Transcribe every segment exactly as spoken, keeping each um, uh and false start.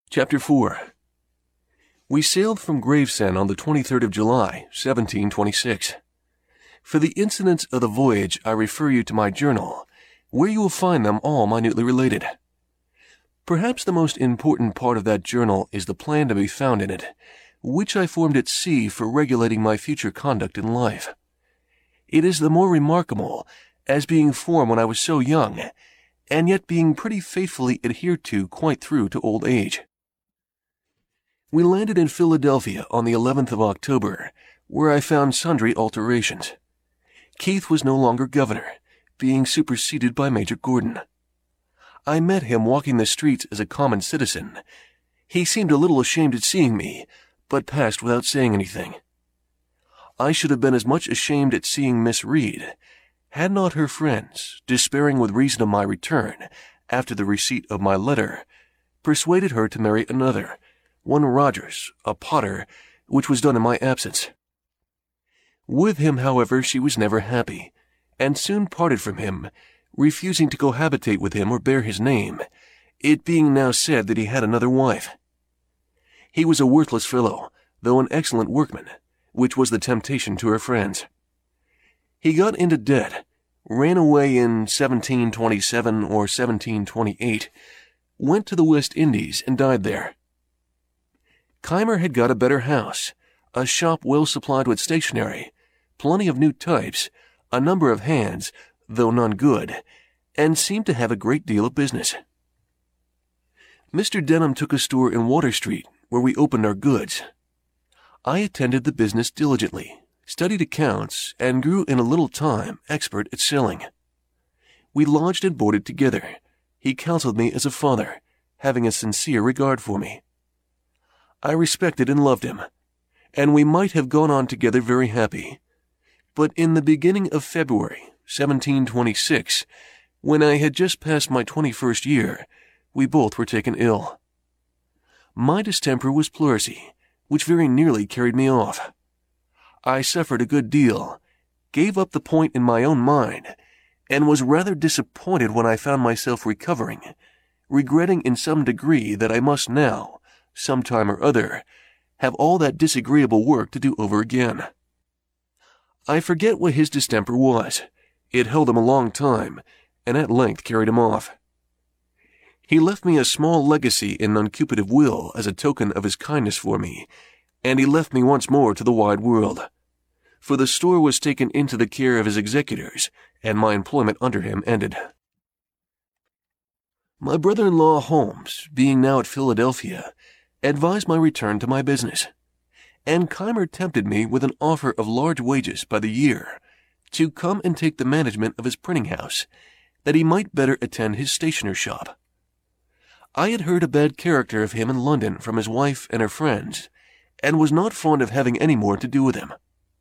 Chapter four. We sailed from Gravesend on the twenty-third of July, seventeen twenty-six. For the incidents of the voyage, I refer you to my journal, where you will find them all minutely related. Perhaps the most important part of that journal is the plan to be found in it, which I formed at sea for regulating my future conduct in life. It is the more remarkable as being formed when I was so young, and yet being pretty faithfully adhered to quite through to old age. We landed in Philadelphia on the eleventh of October, where I found sundry alterations. Keith was no longer governor, being superseded by Major Gordon. I met him walking the streets as a common citizen. He seemed a little ashamed at seeing me, but passed without saying anything. I should have been as much ashamed at seeing Miss Reed, had not her friends, despairing with reason of my return, after the receipt of my letter, persuaded her to marry another, one Rogers, a potter, which was done in my absence. With him, however, she was never happy, and soon parted from him, refusing to cohabitate with him or bear his name, it being now said that he had another wife. He was a worthless fellow, though an excellent workman, which was the temptation to her friends. He got into debt, ran away in seventeen twenty-seven or seventeen twenty-eight, went to the West Indies and died there. Keimer had got a better house, a shop well supplied with stationery, plenty of new types, a number of hands, though none good, and seemed to have a great deal of business. Mister Denham took a store in Water Street, where we opened our goods. I attended the business diligently, studied accounts, and grew in a little time expert at selling. We lodged and boarded together. He counseled me as a father, having a sincere regard for me. I respected and loved him, and we might have gone on together very happy. But in the beginning of February, seventeen twenty-six, when I had just passed my twenty-first year, we both were taken ill. My distemper was pleurisy, which very nearly carried me off. I suffered a good deal, gave up the point in my own mind, and was rather disappointed when I found myself recovering, regretting in some degree that I must now, some time or other, have all that disagreeable work to do over again. I forget what his distemper was. It held him a long time, and at length carried him off. He left me a small legacy in an uncupative will as a token of his kindness for me, and he left me once more to the wide world, for the store was taken into the care of his executors, and my employment under him ended. My brother-in-law Holmes, being now at Philadelphia, advised my return to my business, and Keimer tempted me with an offer of large wages by the year to come and take the management of his printing house, that he might better attend his stationer's shop. I had heard a bad character of him in London from his wife and her friends, and was not fond of having any more to do with him.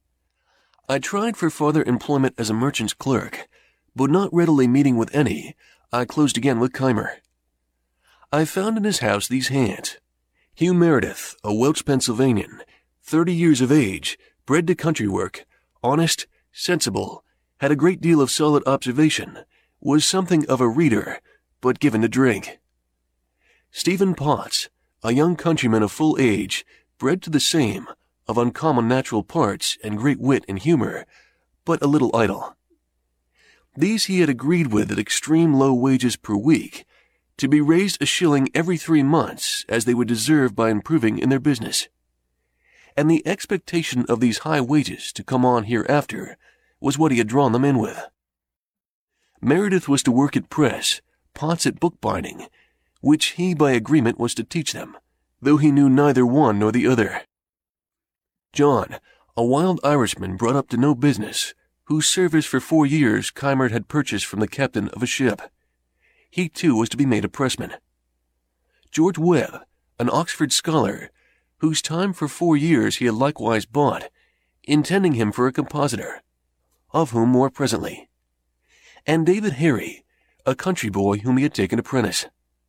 I tried for farther employment as a merchant's clerk, but not readily meeting with any, I closed again with Keimer. I found in his house these hands: Hugh Meredith, a Welch Pennsylvanian, thirty years of age, bred to country work, honest, sensible, had a great deal of solid observation, was something of a reader, but given to drink. Stephen Potts, a young countryman of full age, bred to the same, of uncommon natural parts and great wit and humour, but a little idle. These he had agreed with at extreme low wages per week, to be raised a shilling every three months, as they would deserve by improving in their business. And the expectation of these high wages to come on hereafter was what he had drawn them in with. Meredith was to work at press, Potts at bookbinding, which he by agreement was to teach them, though he knew neither one nor the other. John, a wild Irishman brought up to no business, whose service for four years Keimer had purchased from the captain of a ship. He too was to be made a pressman. George Webb, an Oxford scholar, whose time for four years he had likewise bought, intending him for a compositor, of whom more presently. And David Harry, a country boy whom he had taken apprentice.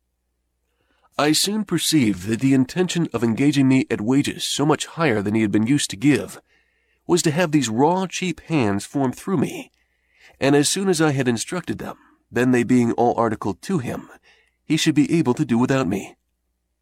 I soon perceived that the intention of engaging me at wages so much higher than he had been used to give was to have these raw, cheap hands formed through me, and as soon as I had instructed them, then they being all articled to him, he should be able to do without me.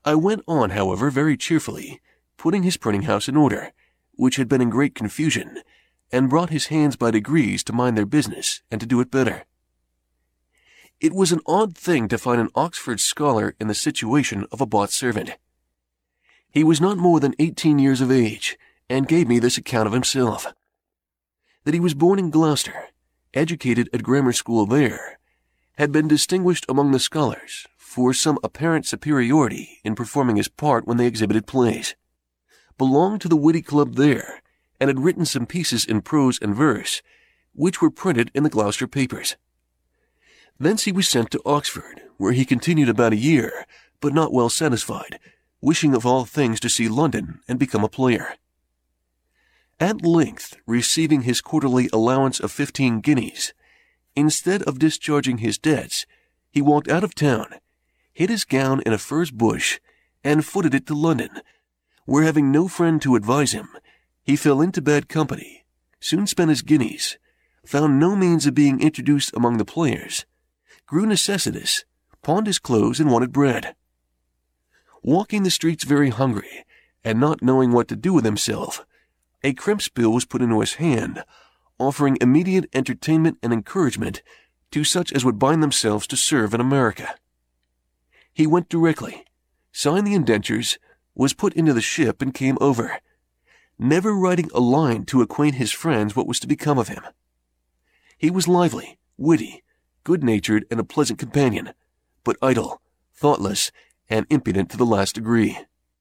I went on, however, very cheerfully, putting his printing house in order, which had been in great confusion, and brought his hands by degrees to mind their business and to do it better. It was an odd thing to find an Oxford scholar in the situation of a bought servant. He was not more than eighteen years of age, and gave me this account of himself: that he was born in Gloucester, educated at grammar school there, had been distinguished among the scholars for some apparent superiority in performing his part when they exhibited plays, belonged to the witty club there, and had written some pieces in prose and verse, which were printed in the Gloucester papers. Thence he was sent to Oxford, where he continued about a year, but not well satisfied, wishing of all things to see London and become a player. At length, receiving his quarterly allowance of fifteen guineas, instead of discharging his debts, he walked out of town, hid his gown in a furze bush, and footed it to London, where, having no friend to advise him, he fell into bad company, soon spent his guineas, found no means of being introduced among the players, grew necessitous, pawned his clothes, and wanted bread. Walking the streets very hungry, and not knowing what to do with himself, a crimps bill was put into his hand, offering immediate entertainment and encouragement to such as would bind themselves to serve in America. He went directly, signed the indentures, was put into the ship, and came over, never writing a line to acquaint his friends what was to become of him. He was lively, witty, good-natured, and a pleasant companion, but idle, thoughtless, and impudent to the last degree.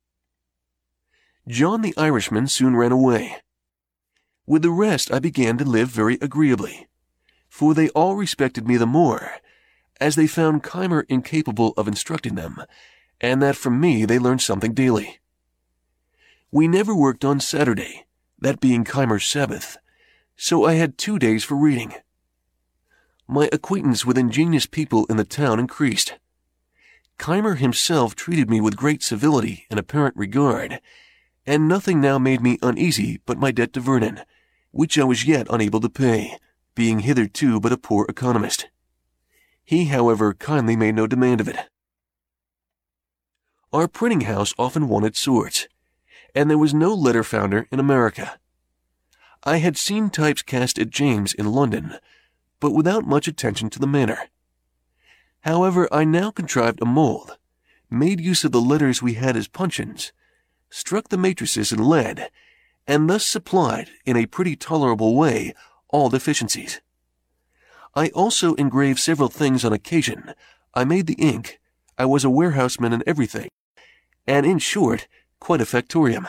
John the Irishman soon ran away. With the rest I began to live very agreeably, for they all respected me the more, as they found Keimer incapable of instructing them, and that from me they learned something daily. We never worked on Saturday, that being Keimer's Sabbath, so I had two days for reading. My acquaintance with ingenious people in the town increased. Keimer himself treated me with great civility and apparent regard, and nothing now made me uneasy but my debt to Vernon, which I was yet unable to pay, being hitherto but a poor economist. He, however, kindly made no demand of it. Our printing house often wanted sorts, and there was no letter founder in America. I had seen types cast at James in London, but without much attention to the manner. However, I now contrived a mold, made use of the letters we had as puncheons, struck the matrices in lead, and thus supplied, in a pretty tolerable way, all deficiencies. I also engraved several things on occasion. I made the ink. I was a warehouseman in everything, and, in short, quite a factorium.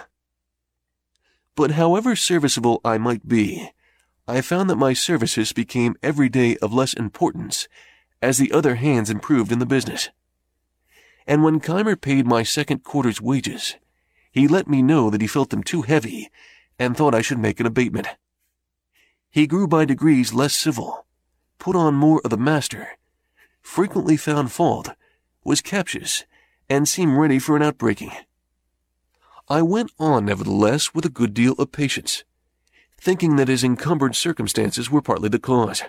But however serviceable I might be, I found that my services became every day of less importance as the other hands improved in the business. And when Keimer paid my second quarter's wages, he let me know that he felt them too heavy and thought I should make an abatement. He grew by degrees less civil, put on more of the master, frequently found fault, was captious, and seemed ready for an outbreaking. I went on, nevertheless, with a good deal of patience, thinking that his encumbered circumstances were partly the cause.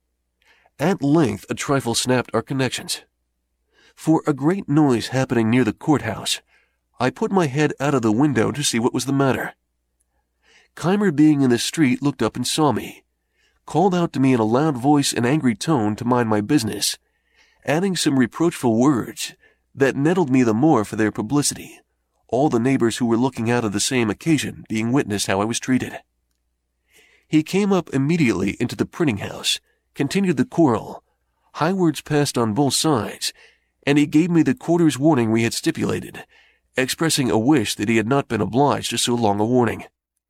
At length a trifle snapped our connections. For a great noise happening near the courthouse, I put my head out of the window to see what was the matter. Keimer, being in the street, looked up and saw me, called out to me in a loud voice and angry tone to mind my business, adding some reproachful words that nettled me the more for their publicity, all the neighbors who were looking out of the same occasion being witness how I was treated. He came up immediately into the printing house, continued the quarrel, high words passed on both sides, and he gave me the quarter's warning we had stipulated, expressing a wish that he had not been obliged to so long a warning.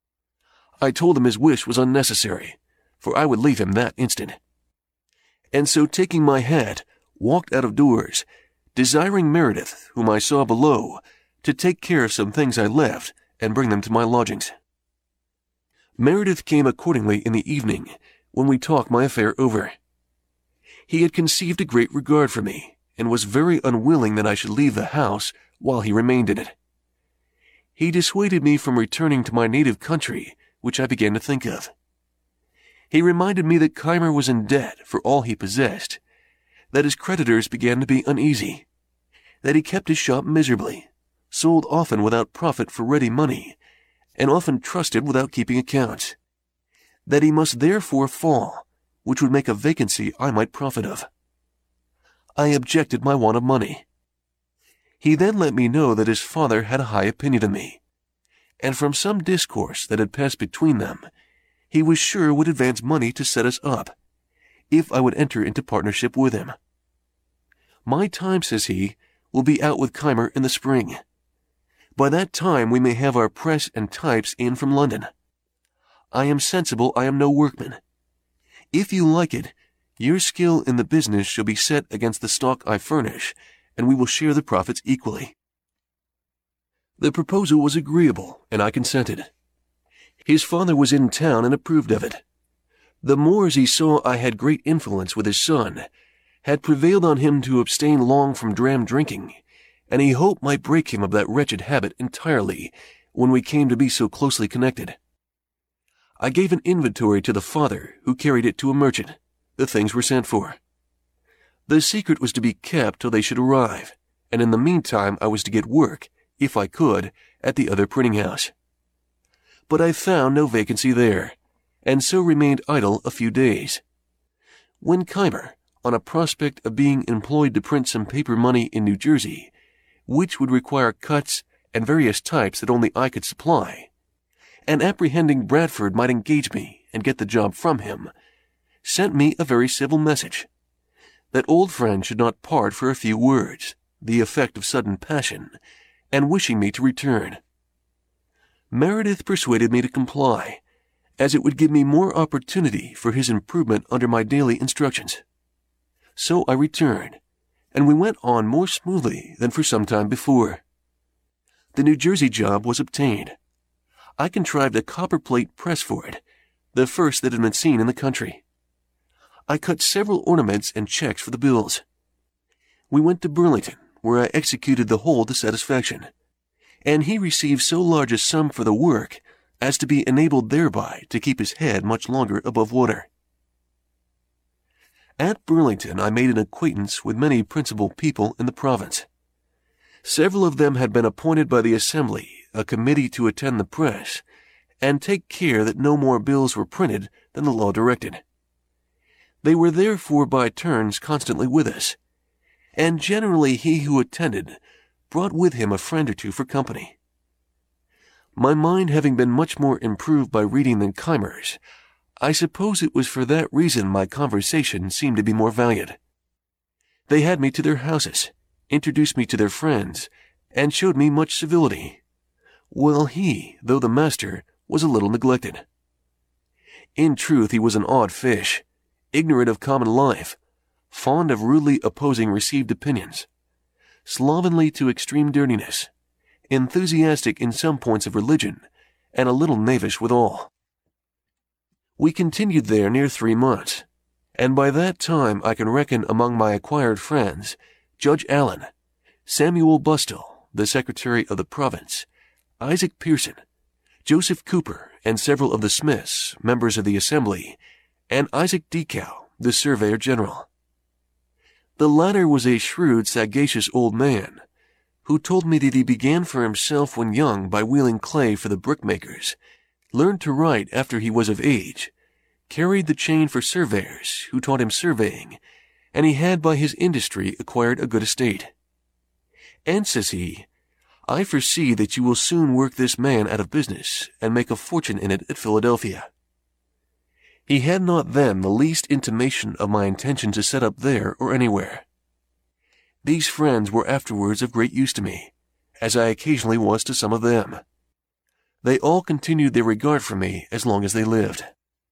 I told him his wish was unnecessary, for I would leave him that instant. And so, taking my hat, walked out of doors, desiring Meredith, whom I saw below, to take care of some things I left and bring them to my lodgings. Meredith came accordingly in the evening, when we talked my affair over. He had conceived a great regard for me, and was very unwilling that I should leave the house while he remained in it. He dissuaded me from returning to my native country, which I began to think of. He reminded me that Keimer was in debt for all he possessed, that his creditors began to be uneasy, that he kept his shop miserably, sold often without profit for ready money, and often trusted without keeping accounts, that he must therefore fall, which would make a vacancy I might profit of. I objected my want of money. He then let me know that his father had a high opinion of me, and from some discourse that had passed between them, he was sure would advance money to set us up, if I would enter into partnership with him. My time, says he, will be out with Keimer in the spring. By that time we may have our press and types in from London. I am sensible I am no workman. If you like it, your skill in the business shall be set against the stock I furnish, and we will share the profits equally. The proposal was agreeable, and I consented. His father was in town and approved of it. The more as he saw I had great influence with his son, had prevailed on him to abstain long from dram drinking, and he hoped might break him of that wretched habit entirely when we came to be so closely connected. I gave an inventory to the father, who carried it to a merchant. The things were sent for. The secret was to be kept till they should arrive, and in the meantime I was to get work, if I could, at the other printing house. But I found no vacancy there, and so remained idle a few days. When Keimer, on a prospect of being employed to print some paper money in New Jersey, which would require cuts and various types that only I could supply, and apprehending Bradford might engage me and get the job from him, sent me a very civil message, that old friends should not part for a few words, the effect of sudden passion, and wishing me to return. Meredith persuaded me to comply, as it would give me more opportunity for his improvement under my daily instructions. So I returned, and we went on more smoothly than for some time before. The New Jersey job was obtained. I contrived a copperplate press for it, the first that had been seen in the country. I cut several ornaments and checks for the bills. We went to Burlington, where I executed the whole to satisfaction, and he received so large a sum for the work as to be enabled thereby to keep his head much longer above water. At Burlington I made an acquaintance with many principal people in the province. Several of them had been appointed by the Assembly a committee to attend the press, and take care that no more bills were printed than the law directed. They were therefore by turns constantly with us, and generally he who attended brought with him a friend or two for company. My mind having been much more improved by reading than Keimer's, I suppose it was for that reason my conversation seemed to be more valued. They had me to their houses, introduced me to their friends, and showed me much civility, while he, though the master, was a little neglected. In truth, he was an odd fish, ignorant of common life, fond of rudely opposing received opinions, slovenly to extreme dirtiness, enthusiastic in some points of religion, and a little knavish withal. We continued there near three months, and by that time I can reckon among my acquired friends Judge Allen, Samuel Bustill, the Secretary of the Province, Isaac Pearson, Joseph Cooper, and several of the Smiths, members of the Assembly, and Isaac Decow, the Surveyor General. The latter was a shrewd, sagacious old man, who told me that he began for himself when young by wheeling clay for the brickmakers, learned to write after he was of age, carried the chain for surveyors, who taught him surveying, and he had by his industry acquired a good estate. And, says he, I foresee that you will soon work this man out of business and make a fortune in it at Philadelphia. He had not then the least intimation of my intention to set up there or anywhere. These friends were afterwards of great use to me, as I occasionally was to some of them. They all continued their regard for me as long as they lived.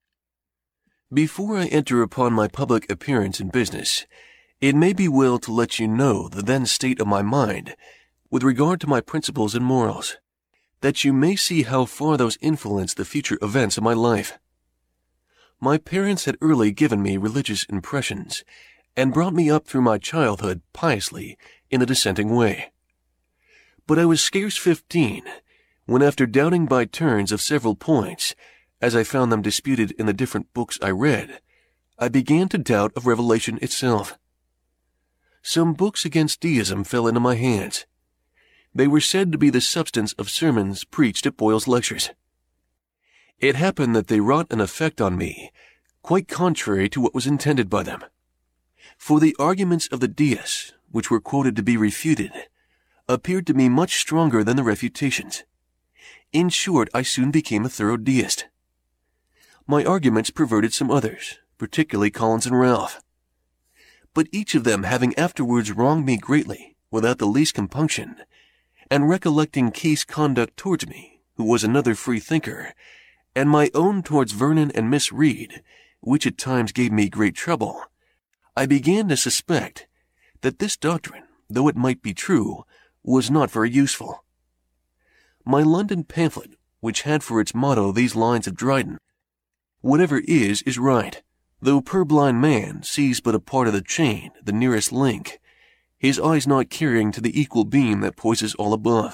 Before I enter upon my public appearance in business, it may be well to let you know the then state of my mind with regard to my principles and morals, that you may see how far those influence the future events of my life. My parents had early given me religious impressions, and brought me up through my childhood piously in the dissenting way. But I was scarce fifteen, when after doubting by turns of several points, as I found them disputed in the different books I read, I began to doubt of revelation itself. Some books against deism fell into my hands. They were said to be the substance of sermons preached at Boyle's lectures. It happened that they wrought an effect on me quite contrary to what was intended by them. For the arguments of the deists, which were quoted to be refuted, appeared to me much stronger than the refutations. In short, I soon became a thorough deist. My arguments perverted some others, particularly Collins and Ralph. But each of them having afterwards wronged me greatly, without the least compunction, and recollecting Case conduct towards me, who was another free thinker, and my own towards Vernon and Miss Reed, which at times gave me great trouble, I began to suspect that this doctrine, though it might be true, was not very useful. My London pamphlet, which had for its motto these lines of Dryden, "Whatever is, is right, though purblind man sees but a part of the chain, the nearest link, his eyes not carrying to the equal beam that poises all above."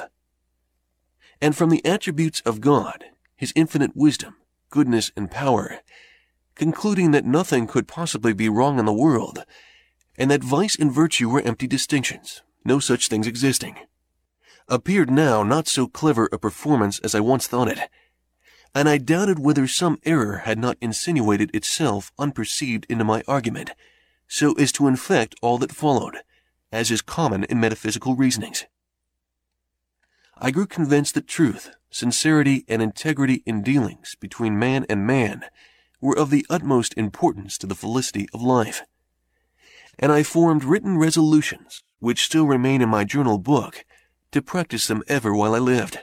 And from the attributes of God, his infinite wisdom, goodness, and power, concluding that nothing could possibly be wrong in the world, and that vice and virtue were empty distinctions, no such things existing, appeared now not so clever a performance as I once thought it, and I doubted whether some error had not insinuated itself unperceived into my argument, so as to infect all that followed, as is common in metaphysical reasonings. I grew convinced that truth, sincerity, and integrity in dealings between man and man were of the utmost importance to the felicity of life, and I formed written resolutions, which still remain in my journal book, to practice them ever while I lived.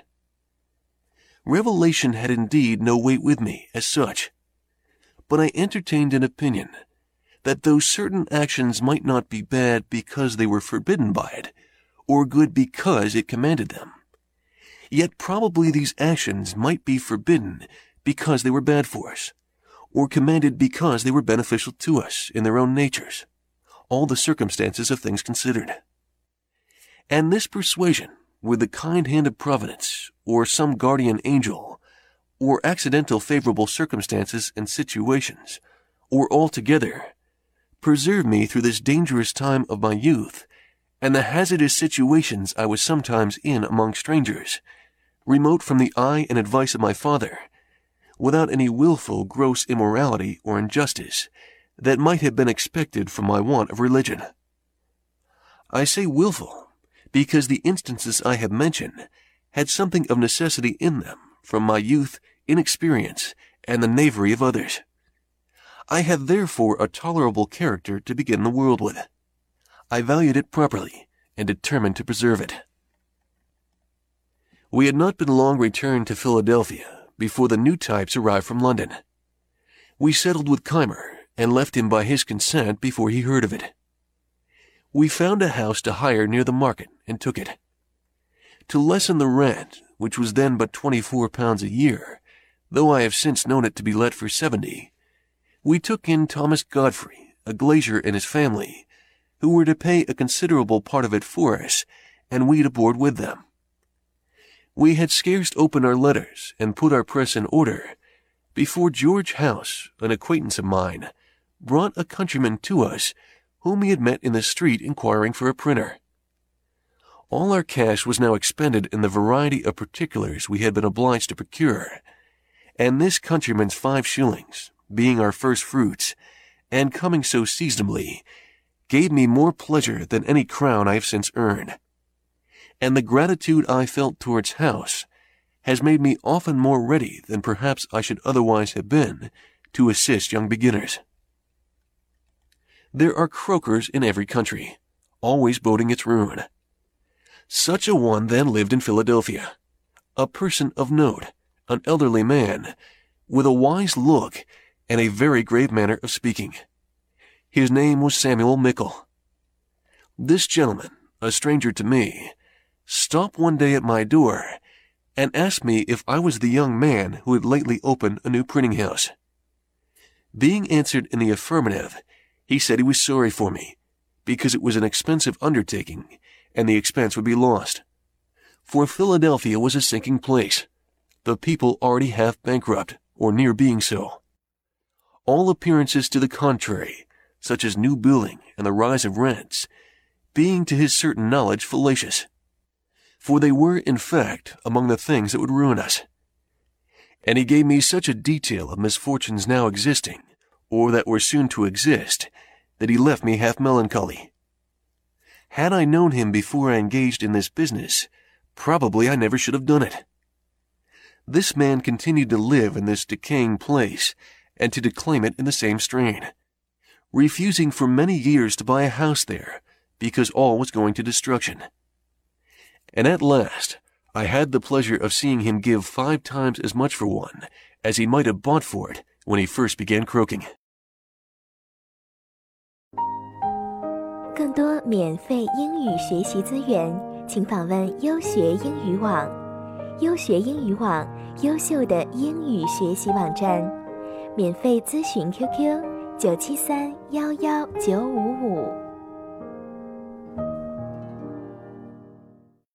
Revelation had indeed no weight with me as such, but I entertained an opinion that though certain actions might not be bad because they were forbidden by it, or good because it commanded them, yet probably these actions might be forbidden because they were bad for us, or commanded because they were beneficial to us in their own natures, all the circumstances of things considered. And this persuasion, with the kind hand of Providence, or some guardian angel, or accidental favorable circumstances and situations, or altogether, preserved me through this dangerous time of my youth, and the hazardous situations I was sometimes in among strangers, remote from the eye and advice of my father, without any wilful gross immorality or injustice that might have been expected from my want of religion. I say wilful, because the instances I have mentioned had something of necessity in them from my youth, inexperience, and the knavery of others. I had therefore a tolerable character to begin the world with. I valued it properly, and determined to preserve it. We had not been long returned to Philadelphia before the new types arrived from London. We settled with Keimer, and left him by his consent before he heard of it. We found a house to hire near the market, and took it. To lessen the rent, which was then but twenty-four pounds a year, though I have since known it to be let for seventy, we took in Thomas Godfrey, a glazier, and his family, who were to pay a considerable part of it for us, and we to board with them. We had scarce opened our letters and put our press in order before George House, an acquaintance of mine, brought a countryman to us whom he had met in the street inquiring for a printer. All our cash was now expended in the variety of particulars we had been obliged to procure, and this countryman's five shillings, being our first fruits, and coming so seasonably, gave me more pleasure than any crown I have since earned. And the gratitude I felt towards House has made me often more ready than perhaps I should otherwise have been to assist young beginners. There are croakers in every country, always boding its ruin. Such a one then lived in Philadelphia, a person of note, an elderly man, with a wise look and a very grave manner of speaking. His name was Samuel Mickle. This gentleman, a stranger to me, stopped one day at my door and asked me if I was the young man who had lately opened a new printing house. Being answered in the affirmative, he said he was sorry for me, because it was an expensive undertaking, and the expense would be lost. For Philadelphia was a sinking place, the people already half bankrupt, or near being so. All appearances to the contrary, such as new building and the rise of rents, being to his certain knowledge fallacious. for they were, in fact, among the things that would ruin us. And he gave me such a detail of misfortunes now existing, or that were soon to exist, that he left me half melancholy. Had I known him before I engaged in this business, probably I never should have done it. This man continued to live in this decaying place, and to declaim it in the same strain, refusing for many years to buy a house there, because all was going to destruction. And at last, I had the pleasure of seeing him give five times as much for one as he might have bought for it when he first began croaking. 更多免费英语学习资源，请访问优学英语网。优学英语网，优秀的英语学习网站。免费咨询 Q Q 九七三幺幺九五五。